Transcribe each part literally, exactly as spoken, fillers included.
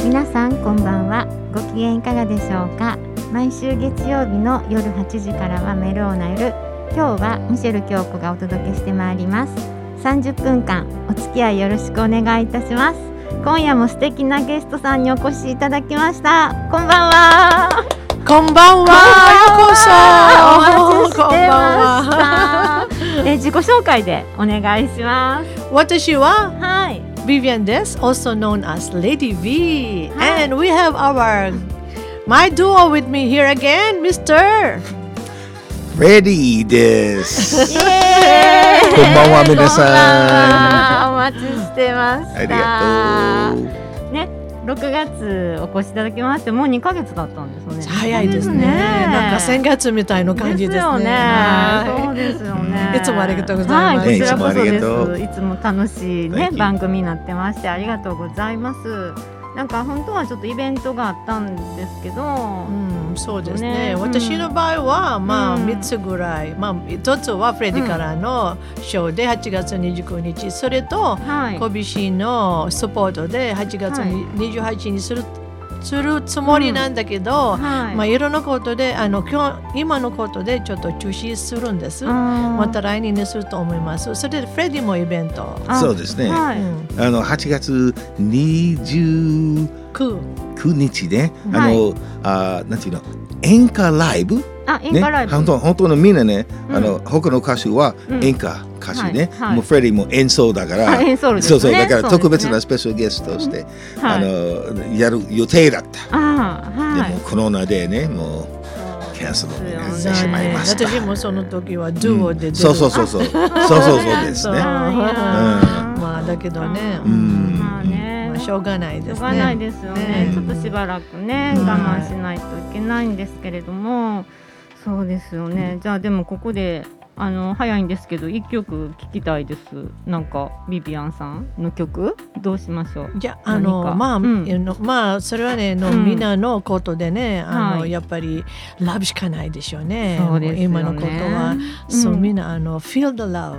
皆さんこんばんは。ご機嫌いかがでしょうか。毎週月曜日の夜はちじからはメローナ夜。今日はミシェル京子がお届けしてまいります。さんじゅっぷんかんお付き合いよろしくお願いいたします。今夜も素敵なゲストさんにお越しいただきました。こんばんは。 こんばんは。ようこそ。 お待ちしてました。え自己紹介でお願いします。 私ははい。 Vivian です。also known as Lady V. はい。 And we have our my duo with me here again, Mister Ready です。 イエーイ。 こんばんは皆さん。 お待ちしてました。 ありがとう。 ね、ろくがつお越しいただきましてもうにかげつだったんですね。 早いですね。なんか先月みたいな感じですね。 ですよね。 はいそうですよね。 いつもありがとうございます。 はい、こちらこそいつもありがとうです。いつも楽しいね Thank you 番組になってましてありがとうございます。なんか本当はちょっとイベントがあったんですけど、 うん、そうですね。 ね私の場合は、まあうんみっつぐらい、まあ一つはフレディからのショーではちがつにじゅうくにち、それとはいコビシーのサポートではちがつにじゅうはちにちにする、するつもりなんだけど、 はい、 まあいろんなことであの今日今のことでちょっと中止するんです。ままた来年にすると思います。それでフレディもイベント。 そうですね。 はいうんあのはちがつにじゅうくくにちね、 はいあのあなんていうの演歌ライブあ演ね、 歌ライブ、 本当本当のみんなね、 うんあの他の歌手はうん演歌歌手ね、 はいはいもうフレディも演奏だから、 あ演奏ですね。 そうそうだから特別そうですねなスペシャルゲストとして、 はいあのやる予定だった。 あーはいでもコロナでねもうキャンセルになってしまいました。 私もその時はデュオで出る。 そうそうそうそうそうそうそうですそうね。 あーいやーまあだけどね、 ううんんまあね、 まあしょうがないですね。 しょうがないですよね。 ねちょっとしばらくね、 うん我慢しないといけないんですけれども、そうですよね。じゃあでもここであの早いんですけど一曲聴きたいです。なんかビビアンさんの曲どうしましょう。 じゃああの何かまあ、 うんあのまあそれはねの、 うんみんなのことでねあの、 はいやっぱりラブしかないでしょうね。 そうですよねもう今のことは、そううんみんなあの Feel the love。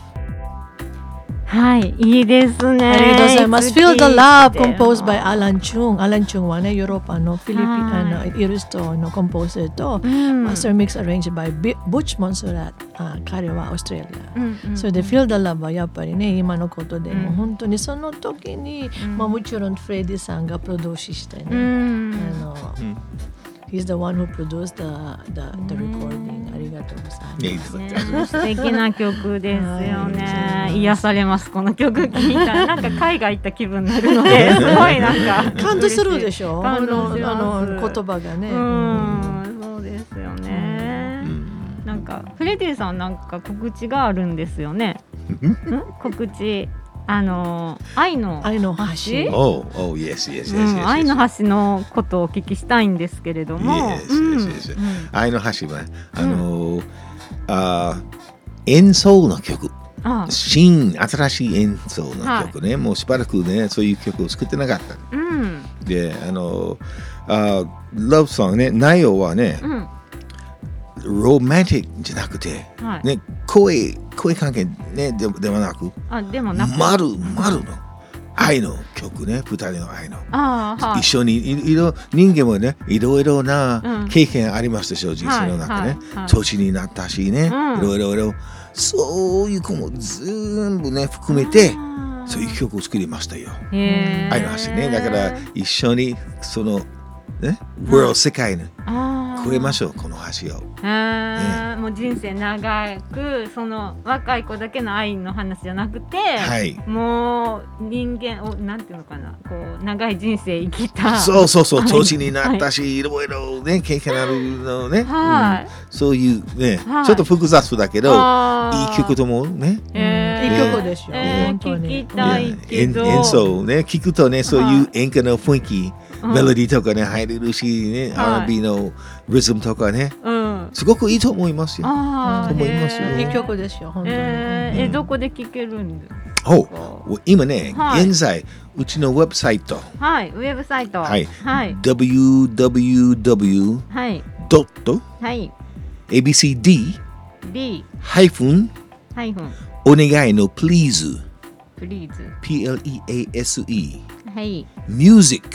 はいいいですね。 ありがとうございます。 いつ Feel the 聴い love て composed も by Alan Chung。Alan Chung はねヨーロッパのフィリピン、 はいあのイルストのコンポーザーと、 うんマスターミックス arranged by Butch Montserrat。あ彼はオーストラリア。 うんうんそれで Feel the love はやっぱりね今のことで、 うんもう本当にその時に、 うんまあ、もちろんフレディさんがプロデュースしてね、 うんあの、He's the one who produced the, the, the recording、ありがとうございます。 いやいいですね素敵な曲ですよね。 はい癒されますこの曲聴いたらなんか海外行った気分になるのですごいなんか感動するでしょ。あ感動のしますあの言葉がね。 うんそうですよね。なんかフレディさんなんか告知があるんですよね。ん告知あの愛の愛の橋橋。 Oh, oh, yes, yes, yes, うん yes, 愛 yes. の橋のことをお聞きしたいんですけれども、 Yes, うん yes, yes, yes. うん愛の橋はあの、あ演奏の曲、 あ新新しい演奏の曲ね、もうしばらくねそういう曲を作ってなかった。 うんであのあラブソングね内容はね、 うんロマンティックじゃなくて、 はいね声声関係ねでではなく、 あでもなく丸丸の愛の曲ね、二人の愛の。 あーはい一緒にいいろ人間もねいろいろうなん経験ありますでしょう、人生の中ね、 はいはいはい年になったしね、 うんいろいろいろそういう子も全部ね含めてあーそういう曲を作りましたよ。 へー愛の橋ね、だから一緒にそのね、world 世界にあー越えましょうこの橋を。 へーもう人生長くその若い子だけの愛の話じゃなくて、 はい。 もう人間をなんていうのかなこう長い人生生きたそうそうそう、 はい年になったし、いろいろね経験あるのね、 はいうんそういうね、 はいちょっと複雑だけど、 あーいい曲ともね。 へーいい曲でしょえー本当に聞きたいけど演演奏ね聞くとねそういう演歌の雰囲気、 うんメロディーとかね入れるしね、 はいアールアンドビー のリズムとかねうんすごくいいと思いますよ。 あーと思いますよへーいい曲ですよ本当に。 えーえどこで聴けるんですか。 お今ね、 はい現在うちのウェブサイトはいウェブサイトはいはいダブリューダブリューダブリューはいドットはいエービーシーディー B ハイフンハイフンお願いの please please P L E A S E はい music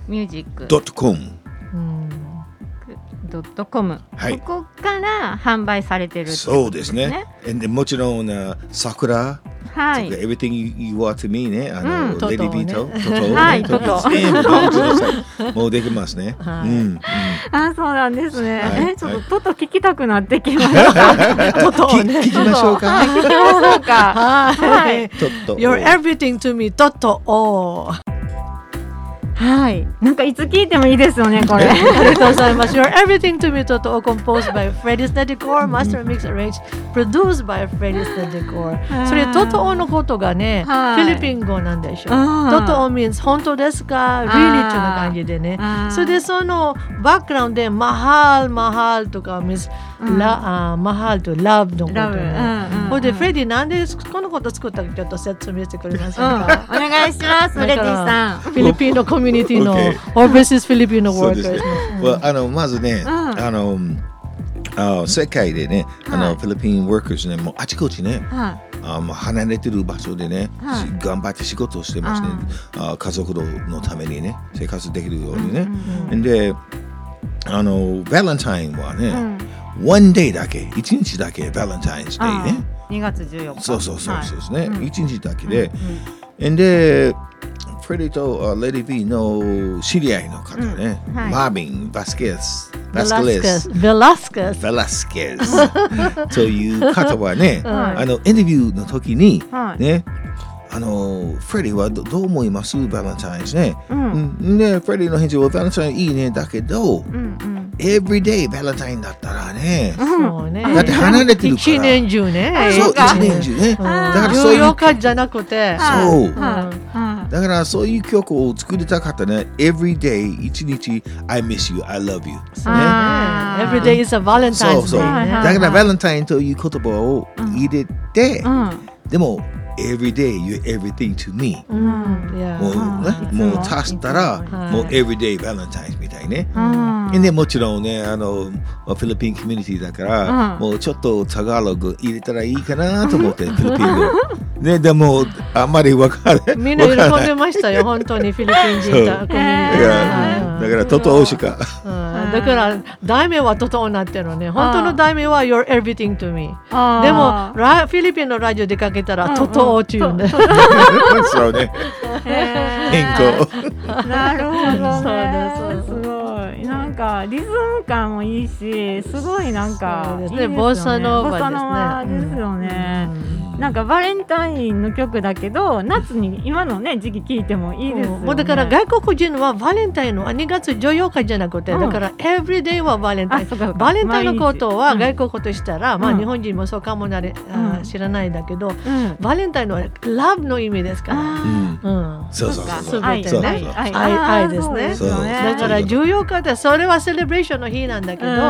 ミュージックドットコム、 ドットコム、 はい、 ここから販売されてるってことそうですね。でもちろん桜、 はい、 everything you, you want to me ね、あの、 うん、 レディビート、トト、 はい、トト、 全部もうちょっともうできますね。 はい、 うん、 あ、そうなんですね。 はい、 え、ちょっとトト聞きたくなってきました。 トトね、 聞きましょうか。 聞きましょうか。はい。 トト。 You're everything to me, トトお。 はい、なんかいつ聞いてもいいですよねこれ。 ありがとうございます。You're everything to me, トト composed by Freddie Stedicor, master mix arranged, produced by Freddie Stedicor。それトトのことがね、フィリピン語なんでしょ。トト means 本当ですか、really っていう感じでね。それでそのバックグラウンドでマハルマハルとか means ラマハルと love のことね。それでフレディなんでこのこと作ったかちょっと説明してくれませんか。 お願いします。フレディさん。 フィリピンのコミュニティの Overseas Filipino workers。 あのまずね、あのあ世界でね、あのフィリピン workers ね、もうあちこちね、あもう離れてる場所でね、頑張って仕事をしてますね。あ家族のためにね、生活できるようにね。で、あのバレンタインはね、one day だけ、一日だけバレンタインデーね。 にがつじゅうよっか。 そうそうそうそうですね。一日だけで、で。フレディとレディ B の知り合いの方ね、うんはい、マービン・バスケス、 バスケス、ベラスケス、 ベラスケスという方はね、はい、あのインタビューの時に、はい、ね、あのフレディは ど, どう思いますバレンタインですね、うん、でフレディの返事はバレンタインいいねだけど、うんうん、エブリデイバレンタインだったらね、そうね、だって離れてるから一年中ね、 そう一年中ね、うん、だからそういうじゅうよっかじゃなくて、 そう、うんだからそういう曲を作りたかったね。Every day 一日 I miss you, I love you。ね。 Every day is a Valentine's Day。 そうそう。だからバレンタインという言葉を入れて、でも Every day you're everything to me。もうね、もう足したらもう Every day Valentine's みたいね。でもちろんね、あのフィリピンコミュニティだからもうちょっとタガログ入れたらいいかなと思ってフィリピン語。ね、でもあんまり分からない。 みんな喜んでましたよ、本当にフィリピン人だコミュニティ。 だからトトオしか。 だから題名はトトオになってるのね。本当の題名は You're everything to me。でもフィリピンのラジオでかけたらトトオっていうんで。 そうね。変更。 なるほどね。すごい。なんかリズム感もいいし、すごいなんかいいですね。 ボサノーバですよね。なんかバレンタインの曲だけど夏に今のね時期聴いてもいいですよね。 もうだから外国人はバレンタインはにがつじゅうよっかじゃなくて、うん、だからエブリデイはバレンタイン。バレンタインのことは外国語としたら、うん、まあ日本人もそうかもなれ、うん、知らないんだけど、うん、バレンタインはラブの意味ですから。うん、 そうそうそう。 愛ですね。愛ですね。だからじゅうよっかでそれはセレブレーションの日なんだけど、うん、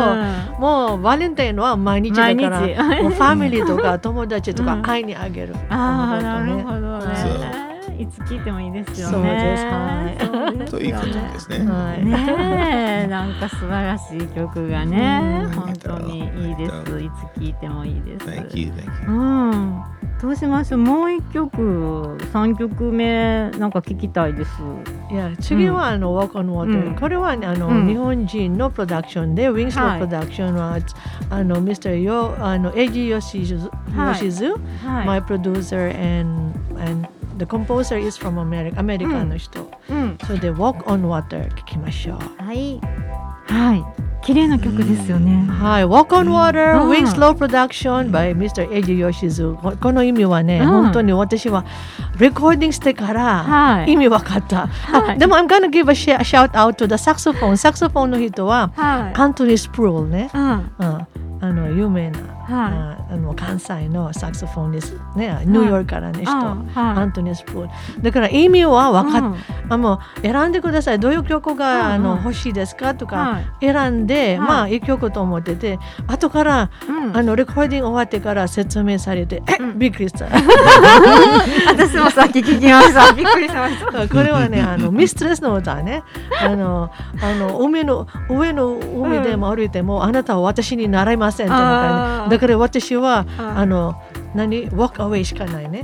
もうバレンタインは毎日だから、もうファミリーとか友達とか愛にあげる。 ああ、なるほどね。いつ聴いてもいいですよね。 そうです。はい。 ということですね。 ねえ、なんか素晴らしい曲がね、本当にいいです。いつ聴いてもいいです。 Thank you, thank you. うん。どうしましょう。もう一曲、三曲目なんか聞きたいです。 いや、次はあの Walk on Water。これはあの日本人のプロダクションで、Wings のプロダクションはあの ミスター よあのエイジヨシズ、my producer and and the composer is from America、アメリカの人。それで Walk on Water 聞きましょう。 はい。はい。綺麗な曲ですよね。 はい、Walk on Water、うん、Wings Low Production by ミスター エイジヨシズ。この意味はね、うん、本当に私はレコーディングしてから意味わかった。はい、でも I'm gonna give a shout out to the saxophone。サクソフォンの人は、はい、アントニー・スプルールね。うんうんあの有名な、はい、あの関西のサクソフォンですね、ニューヨークからの人、はい、アントニー・スプール。だから意味は分かっ、うん、あもう選んでください。どういう曲が、うん、あの欲しいですかとか選んで、はい、まあいい曲と思ってて、後から、うん、あのレコーディング終わってから説明されて、え、うん、びっくりした。 私もさっき聞きました。びっくりしました。 これはね、あのミストレスの歌ね。あのあの海の上の海でも歩いても、うん、あなたは私に習いますだから私はあの何 walk away しかないね。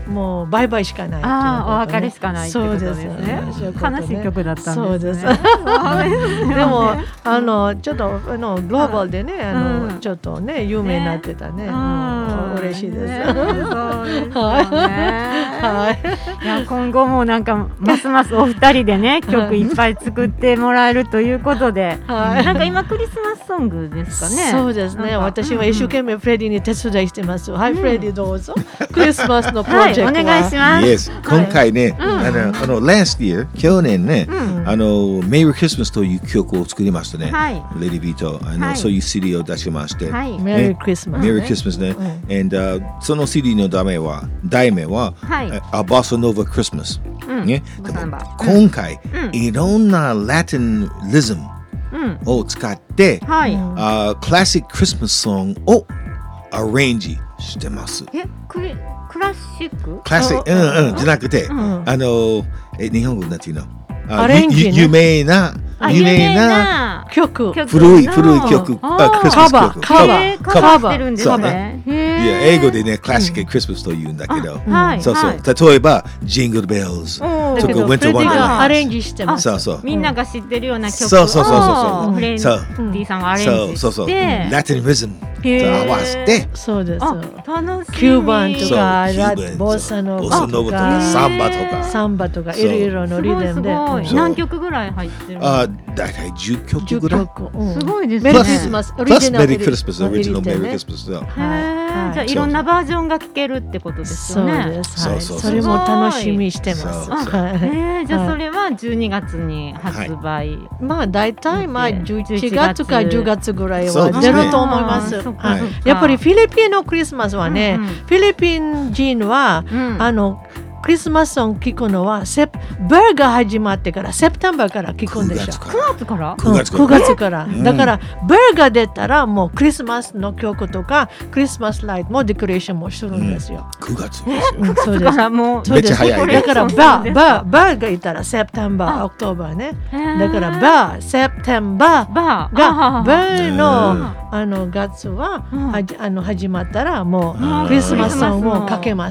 もうバイバイしかない。 ああ、お別れしかないってことですね。悲しい曲だったんですね。 でもあのちょっとあのグローバルでね、あのちょっとね有名になってたね。嬉しいです。そうですよね。 はい。いや今後もなんかますますお二人でね曲いっぱい作ってもらえるということで、なんか今クリスマスソングですかね。 そうですね。私は一生懸命フレディに手伝いしてます。はい、フレディどうぞ。クリスマスのプロジェクト。 お願いします。 Yes、今回ね、あのあの last year 去年ね、あのメリークリスマスという曲を作りましたね。レディビーとあのそういう シーディー を出しまして、 メリークリスマス。 メリークリスマスね。And その シーディー の題名は題名は A Bossa Nova Christmas。ね。今回いろんなラテンリズムを使って、クラシッククリスマスソングをアレンジしてます。 え、クリクラシック？ クラシック、うんうんじゃなくて、あのえ日本語なんていうの？ アレンジ有名な有名な曲、 古い古い曲、 あクリスマス曲、 カバーカバーしてるんですね。 いや英語でねクラシッククリスマスと言うんだけど、そうそう例えばジングルベルズとかウィンターワンダーアレンジしてます。 そうそうみんなが知ってるような曲をそうそうそうそうフレンディさんがアレンジして、 そうそうラテンリズムと合わせて、 そうです。 楽しみ。 キューバンとかボサノバとかサンバとかサンバとかいろいろのリズムで何曲ぐらい入ってる？ あだいたいじゅっきょくぐらい。 すごいですね。 メリークリスマス、 プラスメリークリスマス、オリジナルメリークリスマスだ。 じゃあいろんなバージョンが聴けるってことですよね。 そうです。それも楽しみしてます。 じゃあそれはじゅうにがつに発売。 まあだいたいまあじゅういちがつかじゅうがつぐらいは出ると思います。やっぱりフィリピンのクリスマスはね、フィリピン人はあのクリスマスソング聞くのはセプバーが始まってからセプテンバーから聞くんでしょ。 くがつから？ くがつから。 くがつから。だからバーが出たらもうクリスマスの曲とかクリスマスライトもデコレーションもするんですよ。 くがつ。 そうです。 めっちゃ早い。 だからバーバーバーがいたらセプテンバー、オクトーバーね。だからバーセプテンバーがバーのあの月はあの始まったらもうクリスマスソングをかけます。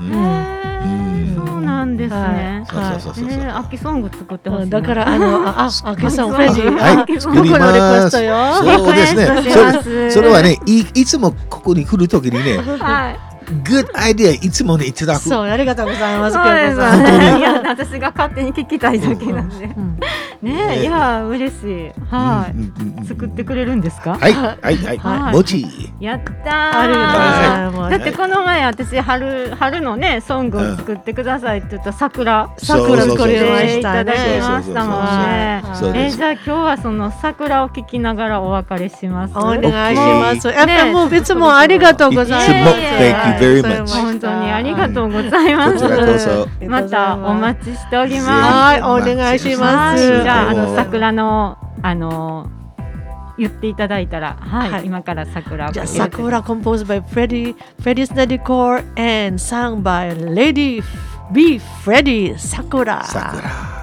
そうなんですね。秋ソング作ってほしい。 だからあのあ秋ソングフレディはい作ります。そうですね。それはねいいつもここに来るときにね。Good idea いつもねいただく。 そうありがとうございます。 そうですね。いや私が勝手に聞きたいだけなんで。ねいや嬉しい。はい作ってくれるんですか？ はいはいはい。もち。 やったー。ありがとうございます。だってこの前私春春のねソングを作ってくださいって言った桜桜作りまいしただきましたもんね。えじゃあ今日はその桜を聞きながらお別れします。 お願いします。やっぱりもういつもありがとうございます。 本当にありがとうございます。またお待ちしております。 はい、お願いします。 じゃああの桜のあの言っていただいたら、はい、今から桜を。 じゃあ桜 composed by Freddie Freddie Snedecor and sung by Lady B Freddie 桜。 桜。